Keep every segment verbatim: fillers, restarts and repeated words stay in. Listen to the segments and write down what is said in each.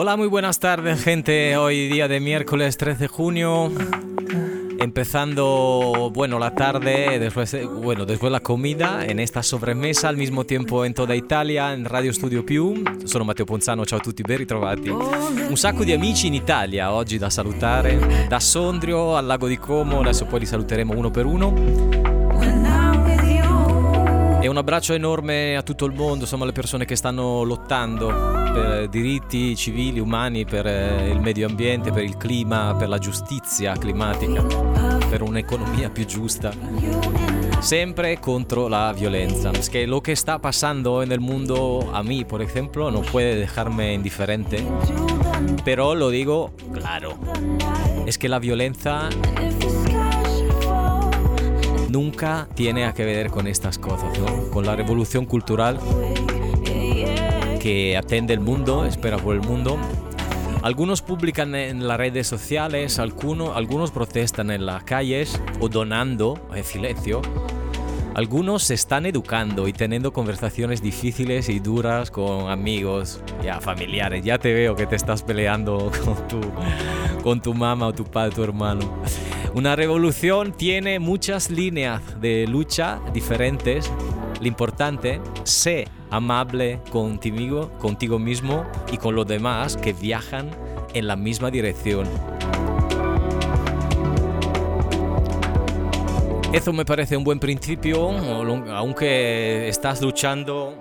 Hola, muy buenas tardes, gente. Hoy día de miércoles tres de junio, empezando, bueno, la tarde, después, bueno, después la comida, en esta sobremesa, al mismo tiempo in tutta Italia, in Radio Studio Più. Sono Matteo Ponzano, ciao a tutti, ben ritrovati. Un sacco di amici in Italia oggi da salutare, da Sondrio al Lago di Como, adesso poi li saluteremo uno per uno. E un abbraccio enorme a tutto il mondo, insomma, le persone che stanno lottando per diritti civili, umani, per il medio ambiente, per il clima, per la giustizia climatica, per un'economia più giusta, sempre contro la violencia. Es que lo que está pasando en el mundo, a mí, por ejemplo, no puede dejarme indiferente, pero lo digo claro, es que la violencia nunca tiene a que ver con estas cosas, ¿no? Con la revolución cultural que atende el mundo, espera por el mundo. Algunos publican en las redes sociales, algunos, algunos protestan en las calles o donando en silencio. Algunos se están educando y teniendo conversaciones difíciles y duras con amigos, ya familiares. Ya te veo que te estás peleando con tu, con tu mamá o tu padre, tu hermano. Una revolución tiene muchas líneas de lucha diferentes. Lo importante, sé amable contigo, contigo mismo y con los demás que viajan en la misma dirección. Eso me parece un buen principio, aunque estás luchando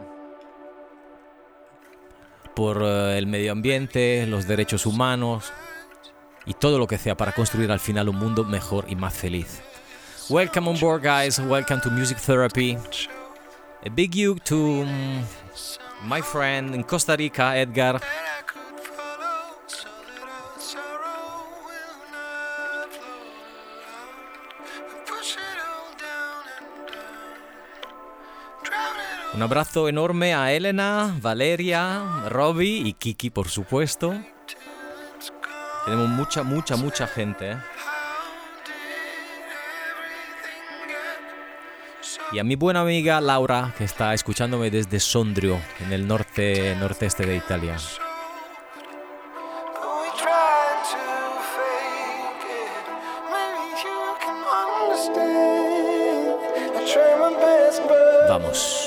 por el medio ambiente, los derechos humanos y todo lo que sea para construir al final un mundo mejor y más feliz. Welcome on board, guys. Welcome to Music Therapy. A big you to my friend in Costa Rica, Edgar. Un abrazo enorme a Elena, Valeria, Robbie y Kiki, por supuesto. Tenemos mucha, mucha, mucha gente, ¿eh? Y a mi buena amiga Laura, que está escuchándome desde Sondrio, en el norte, norteste de Italia. Vamos.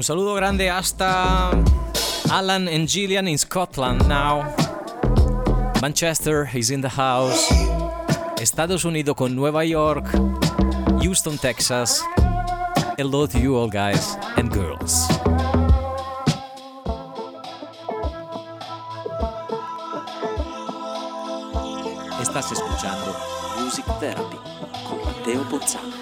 saludo grande hasta Alan and Gillian in Scotland now. Manchester is in the house. Estados Unidos con Nueva York. Houston, Texas. Hello to you all guys and girls. Estás escuchando Music Therapy con Matteo Pozzano.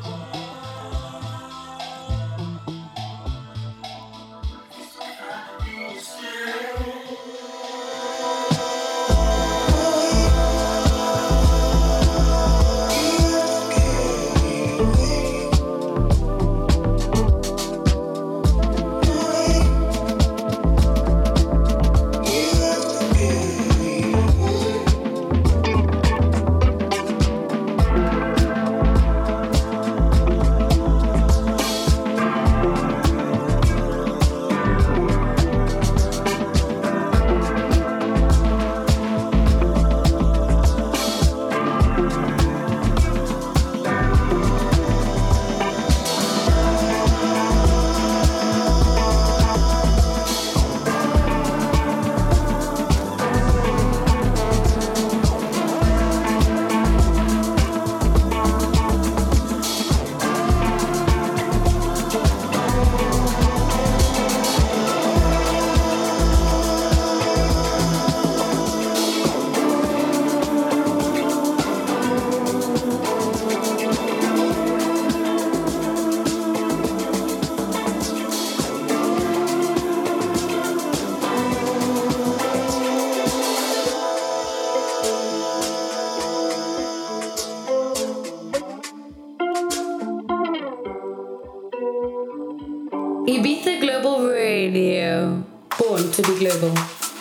Ibiza Global Radio, born to be global.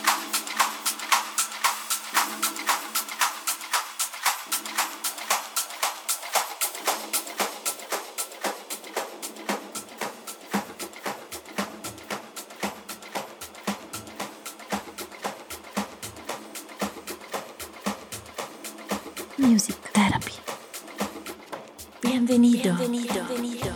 Music Therapy. Bienvenido. Bienvenido. Bienvenido.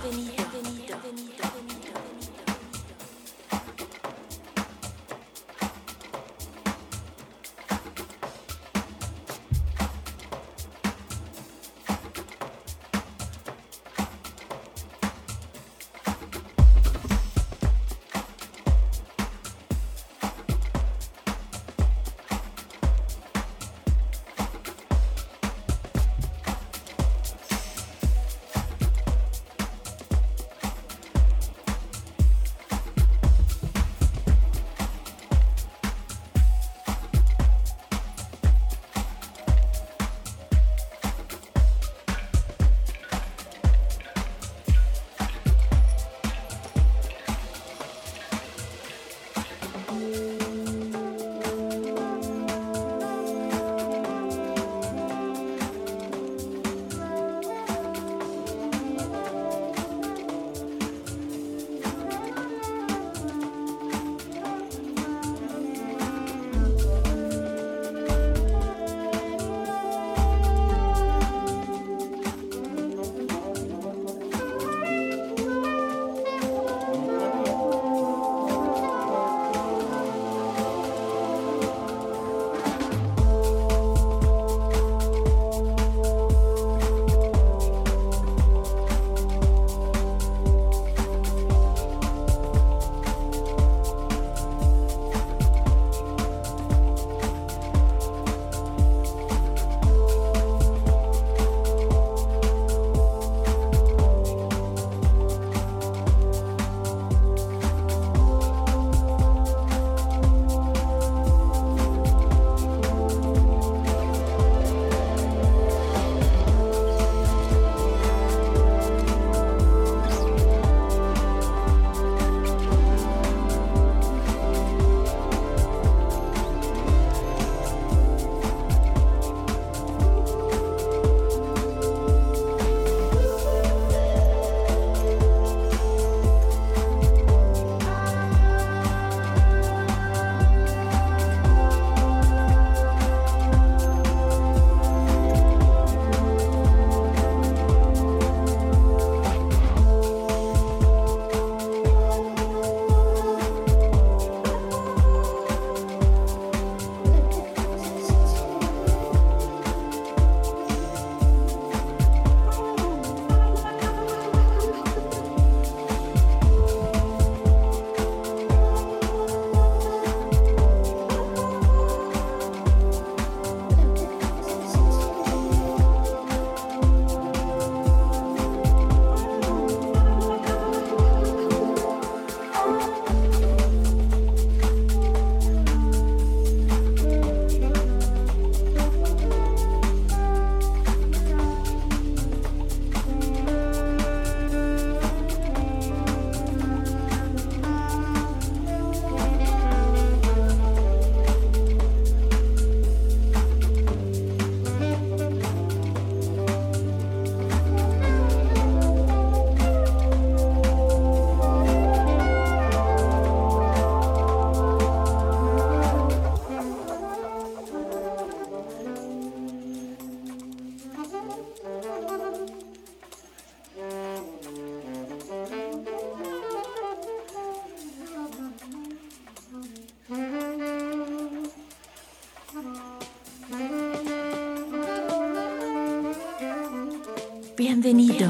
Bienvenido.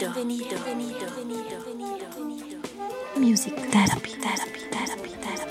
Music therapy, therapy, therapy, therapy.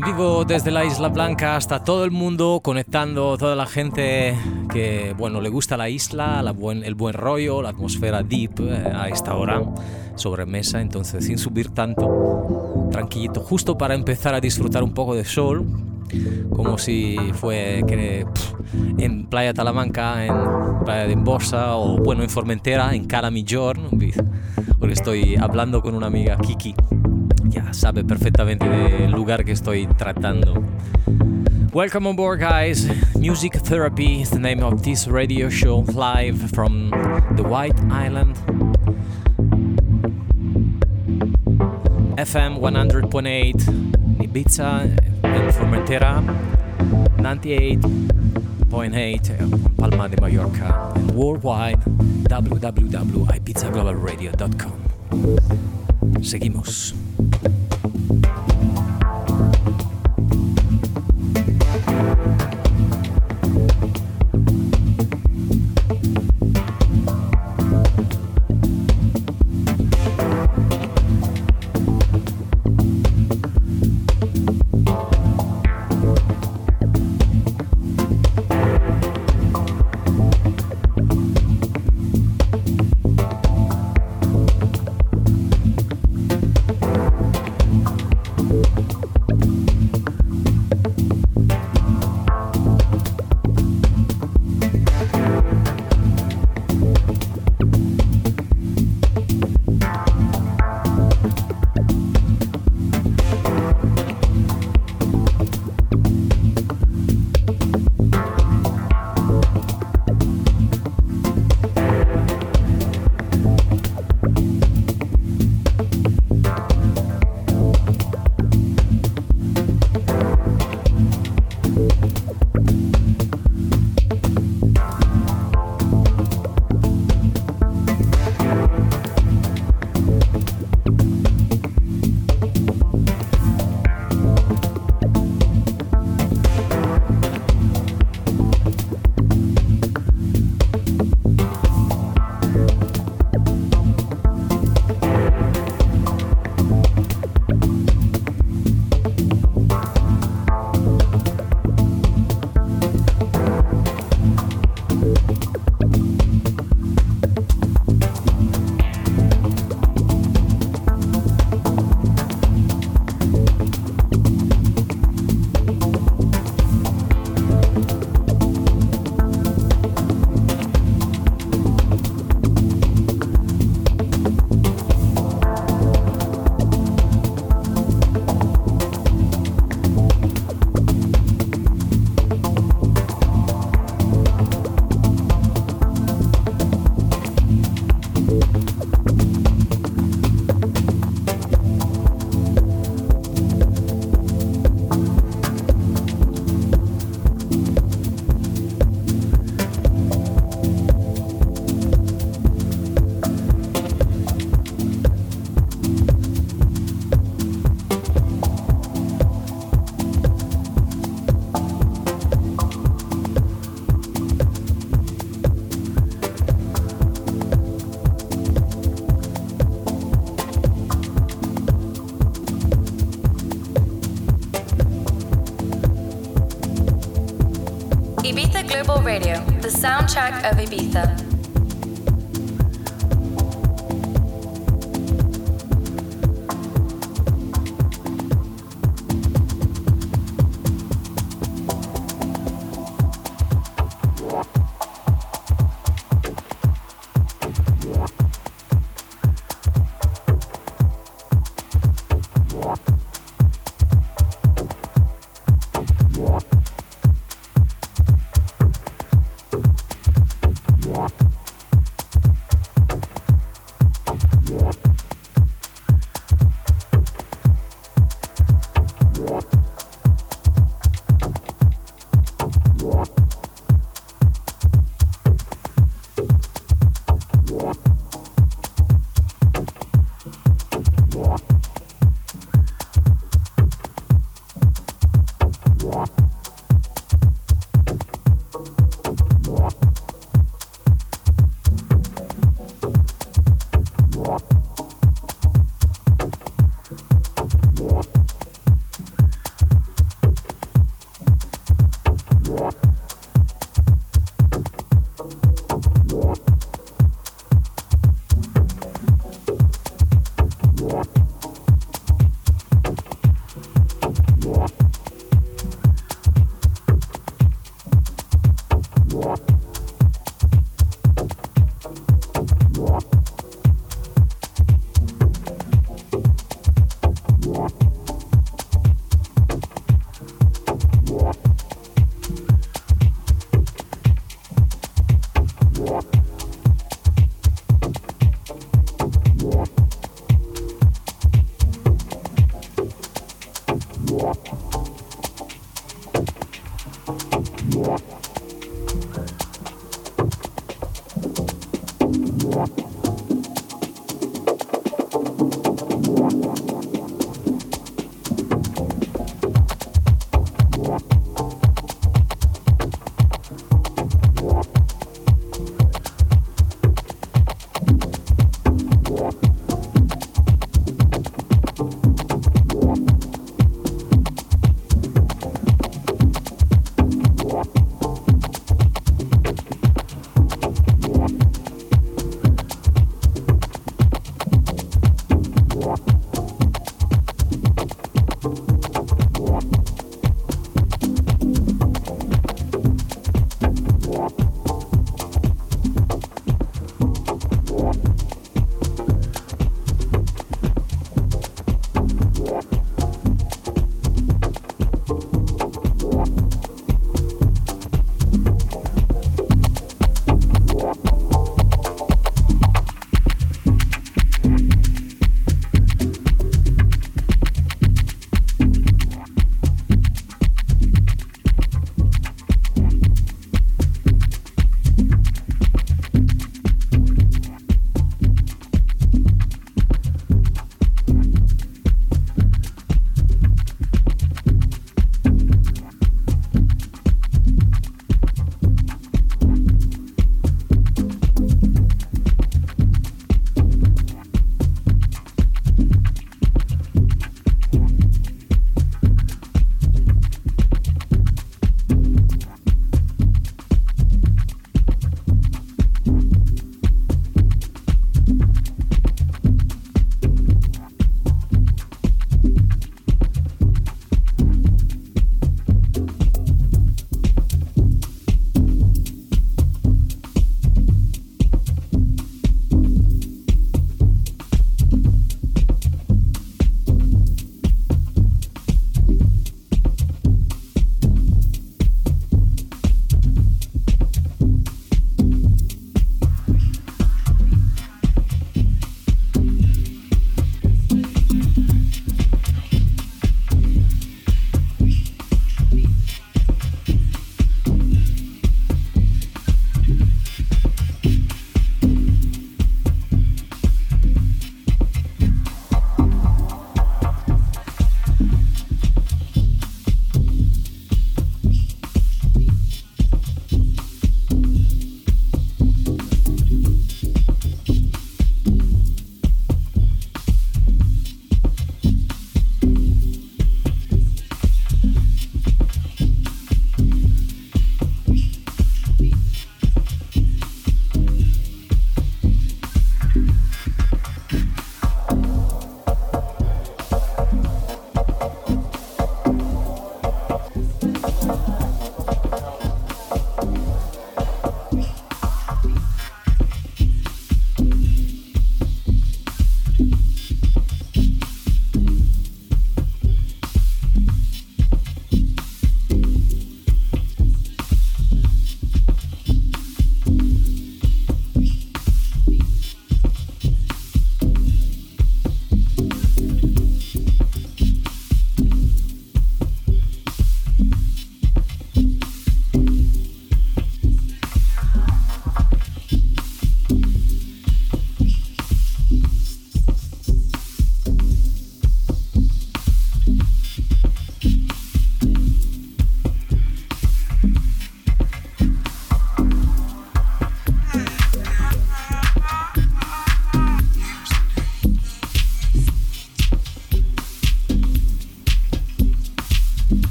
En vivo desde la Isla Blanca hasta todo el mundo, conectando toda la gente que, bueno, le gusta la isla, la buen, el buen rollo, la atmósfera deep eh, a esta hora, sobremesa, entonces sin subir tanto, tranquilito, justo para empezar a disfrutar un poco de sol, como si fue que, pff, en Playa Talamanca, en Playa de Embosa o, bueno, en Formentera, en Cala Millón, porque estoy hablando con una amiga, Kiki. Ya sabe perfectamente del lugar que estoy tratando. Welcome on board, guys. Music Therapy is the name of this radio show, live from the White Island. F M one hundred point eight, Ibiza and Formentera, ninety-eight point eight, Palma de Mallorca, and worldwide, w w w dot ibiza global radio dot com. Seguimos. Ibiza Global Radio, the soundtrack of Ibiza.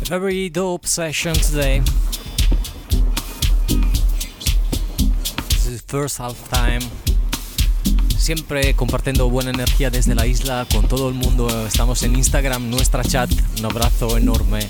Very dope session today. This is first half time. Siempre compartiendo buena energía desde la isla con todo el mundo. Estamos en Instagram, nuestra chat. Un abrazo enorme.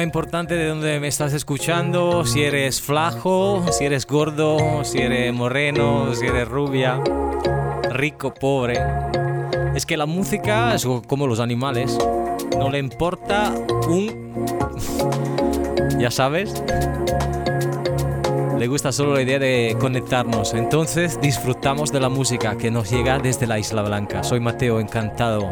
es importante de dónde me estás escuchando, si eres flaco, si eres gordo, si eres moreno, si eres rubia, rico, pobre. Es que la música es como los animales, no le importa un... ya sabes, le gusta solo la idea de conectarnos. Entonces disfrutamos de la música que nos llega desde la Isla Blanca. Soy Mateo, encantado.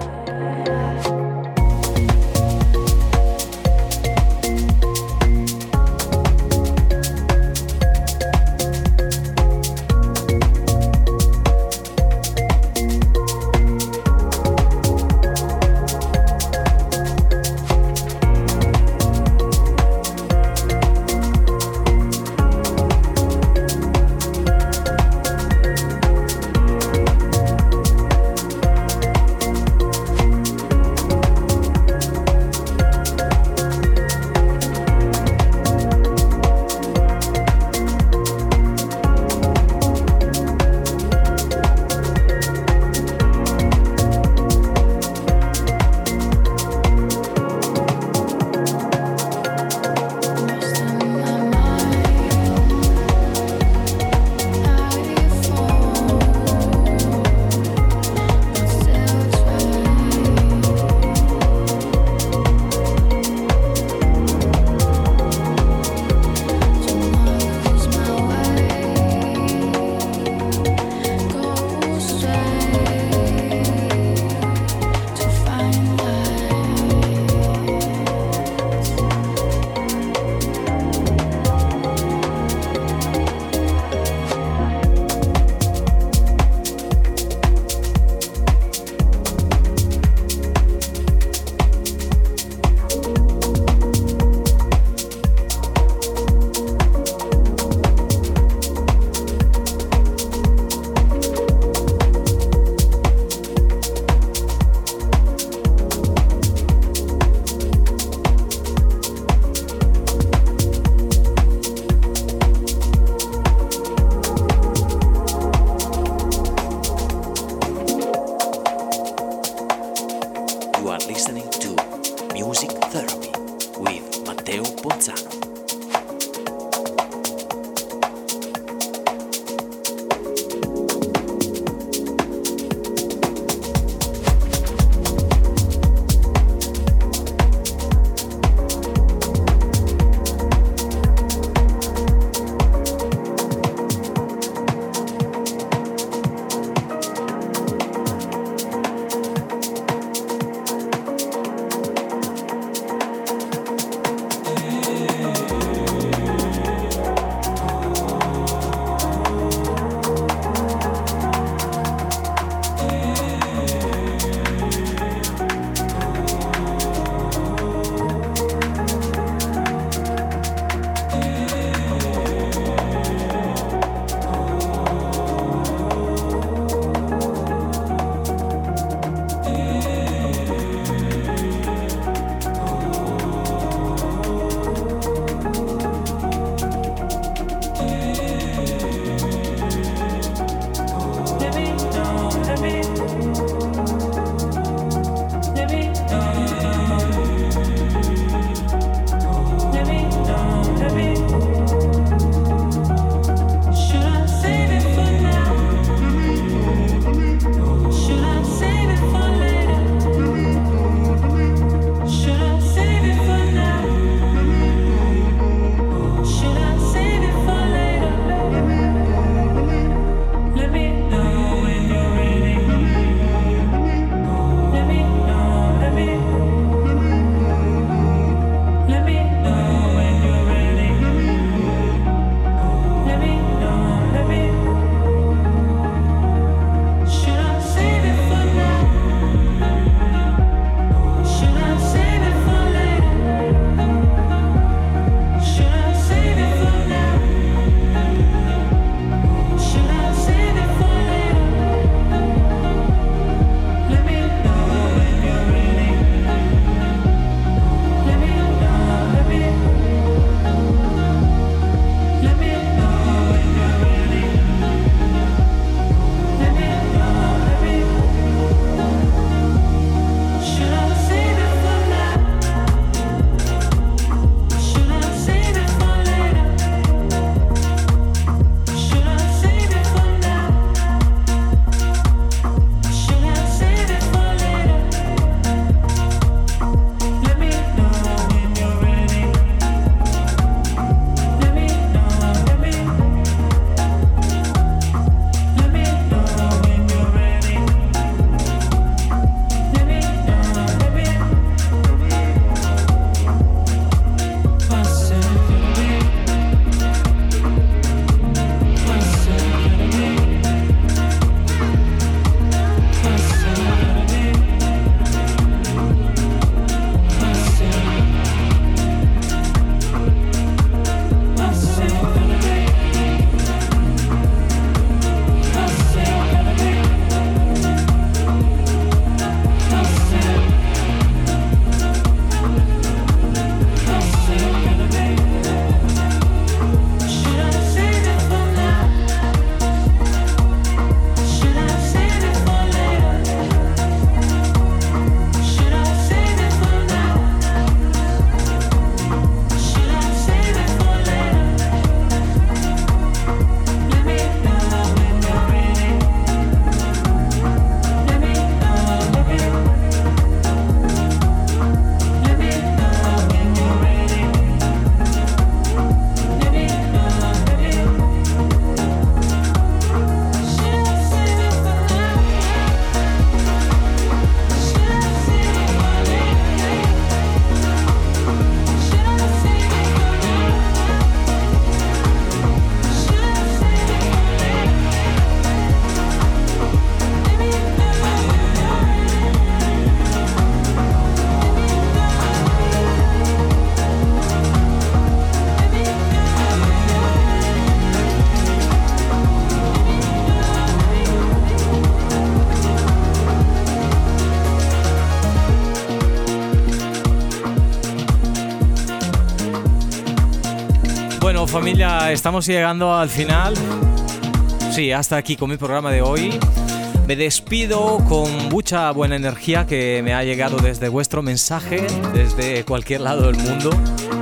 Bueno, familia, estamos llegando al final. Sí, hasta aquí con mi programa de hoy. Me despido con mucha buena energía que me ha llegado desde vuestro mensaje, desde cualquier lado del mundo.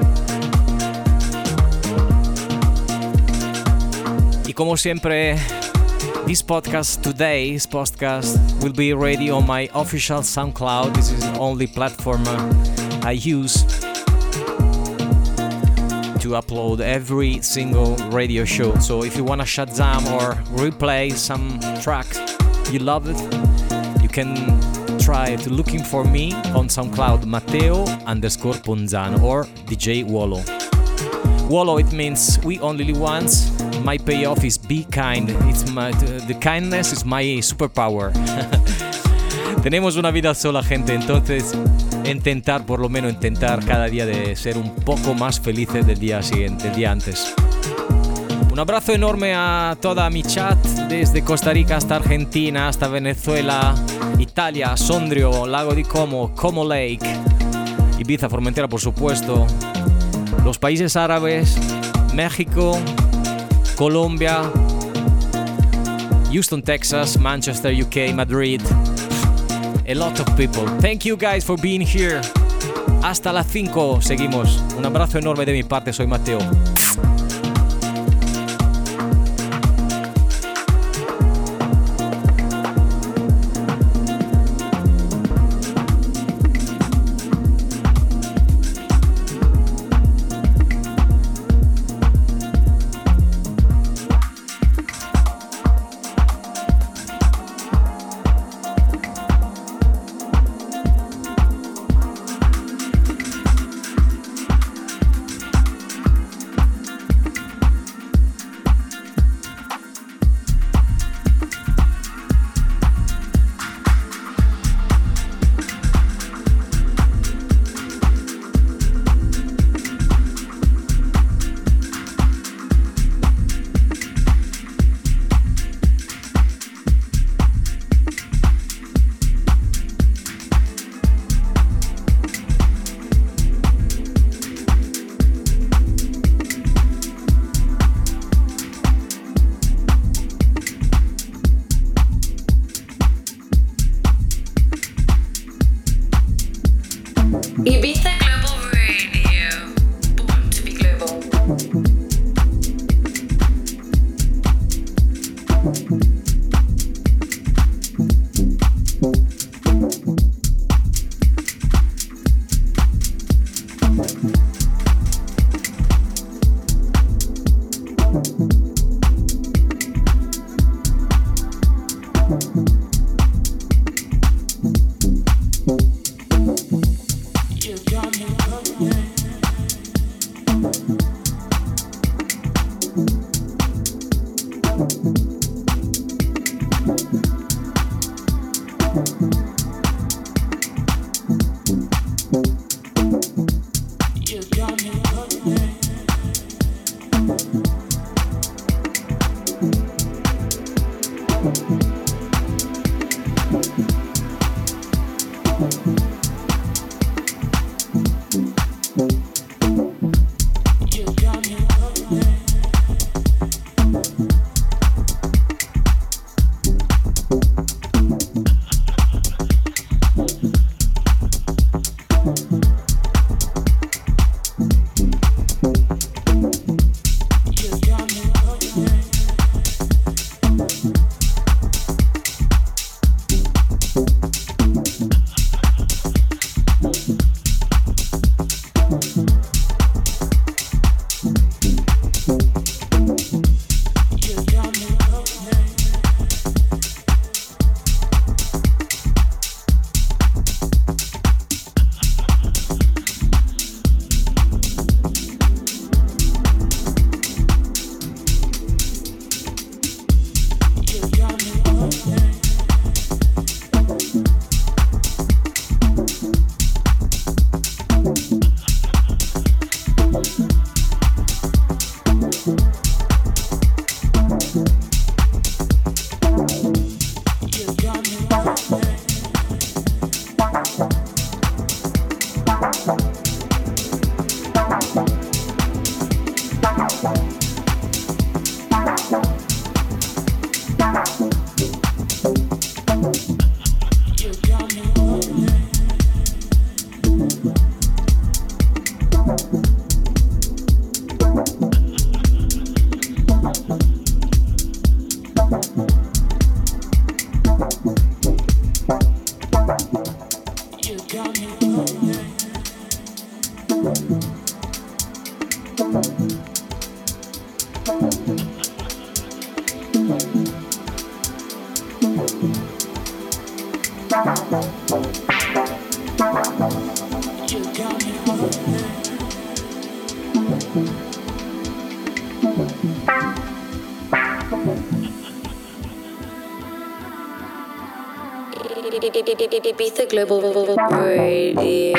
Y como siempre, this podcast, today's podcast, will be ready on my official SoundCloud. This is the only platform I use to upload every single radio show. So if you want to Shazam or replay some tracks you love it, you can try to looking for me on SoundCloud, Matteo underscore Ponzano or D J Wolo. Wolo, it means we only live once. My payoff is be kind. It's my, the kindness is my superpower. Tenemos una vida sola, gente, entonces intentar, por lo menos intentar cada día de ser un poco más felices del día siguiente, del día antes. Un abrazo enorme a toda mi chat, desde Costa Rica hasta Argentina, hasta Venezuela, Italia, Sondrio, Lago di Como, Como Lake, Ibiza, Formentera, por supuesto, los países árabes, México, Colombia, Houston, Texas, Manchester, U K, Madrid. A lot of people. Thank you guys for being here. Hasta las cinco. Seguimos. Un abrazo enorme de mi parte. Soy Matteo. Ibiza Global Radio, born to be global. Ibiza Global Radio.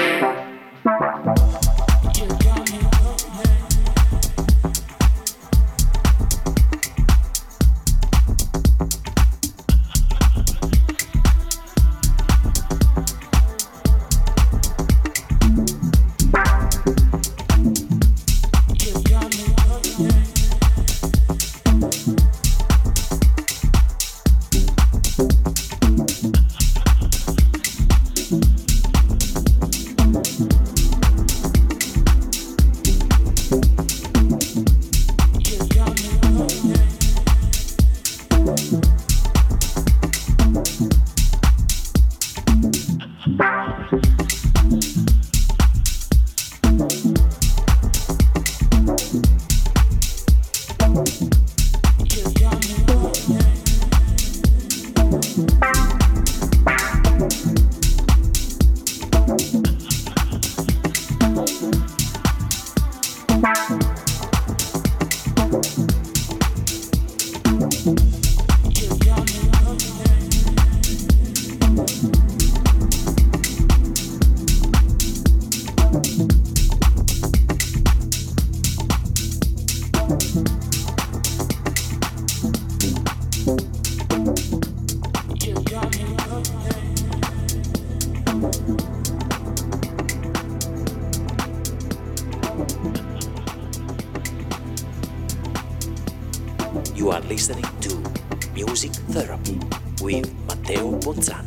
You are listening to Music Therapy with Matteo Bonzano.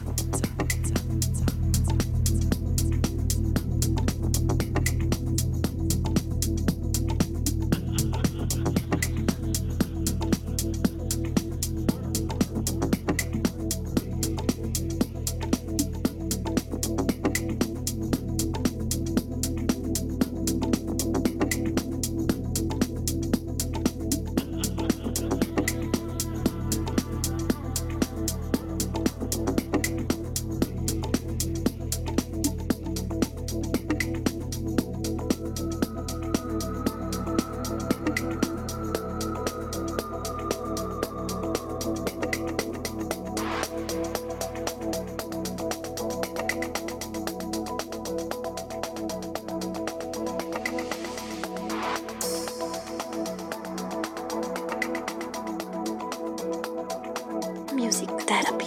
Music Therapy.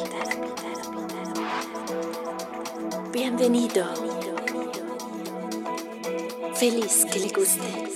Bienvenido. Feliz que le guste.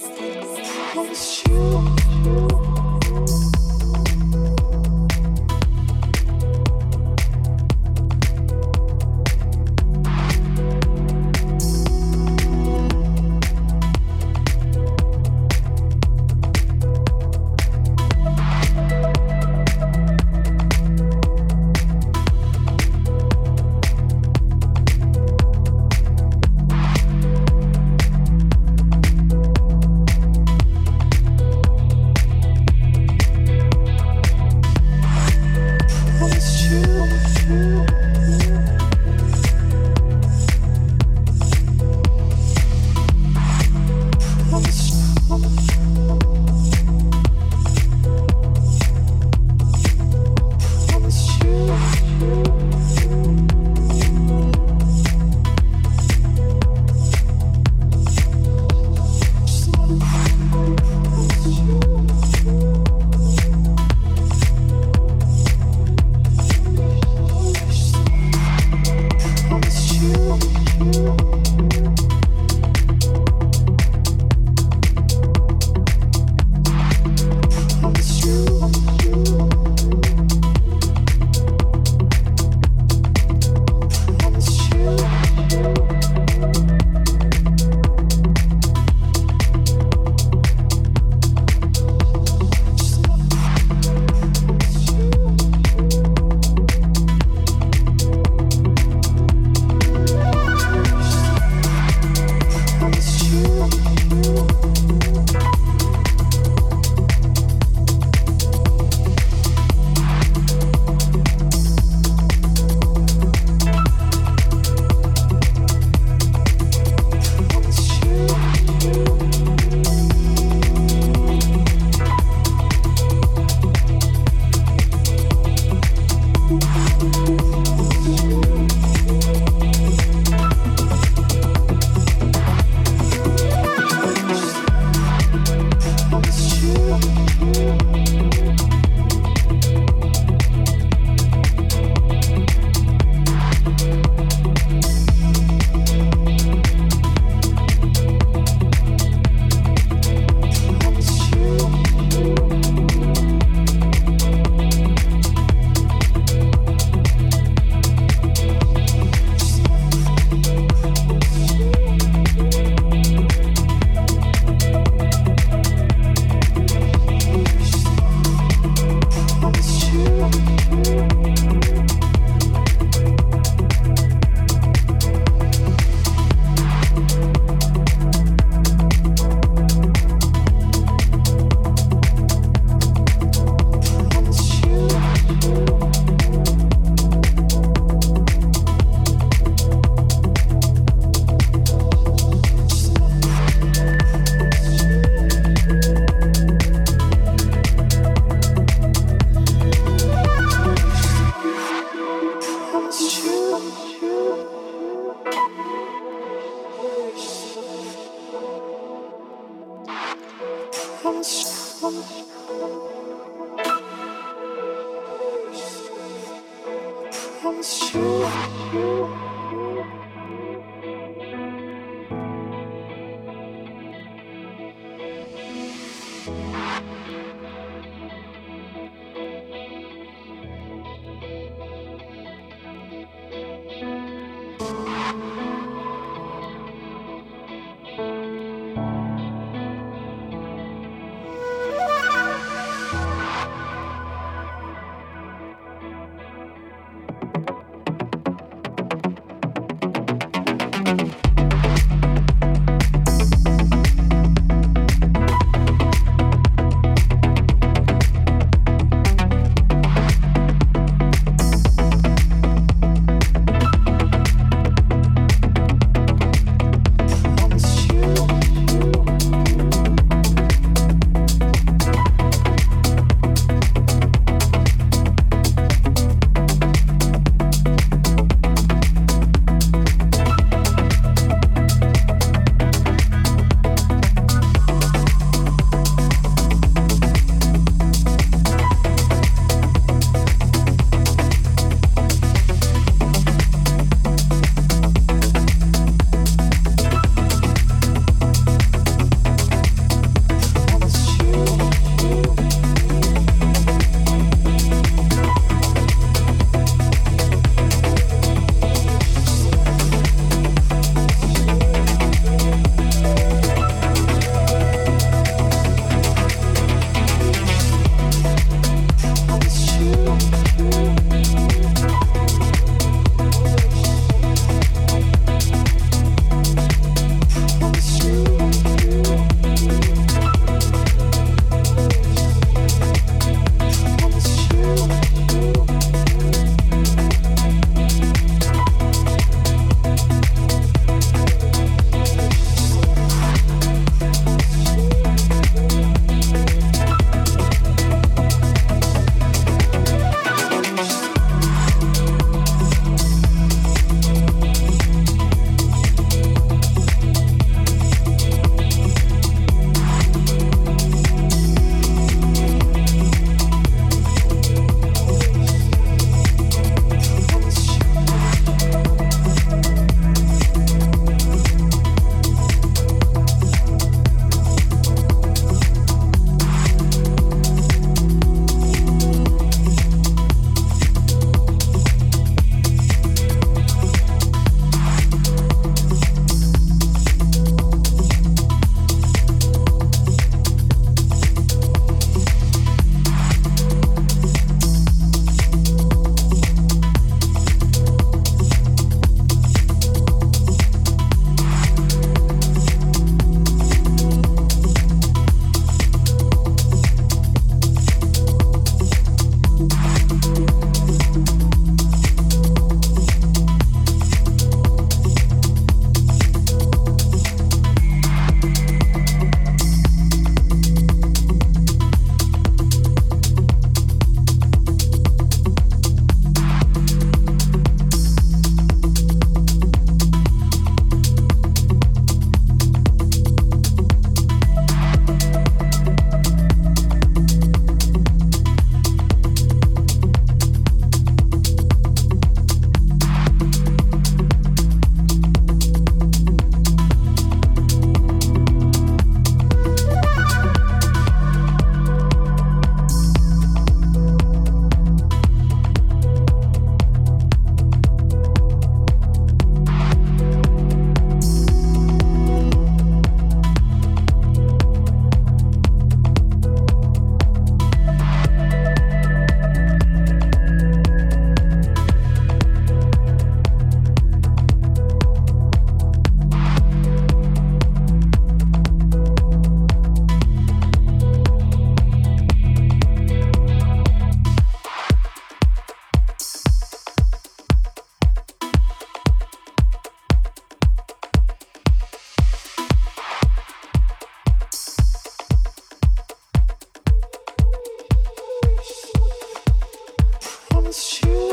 promise you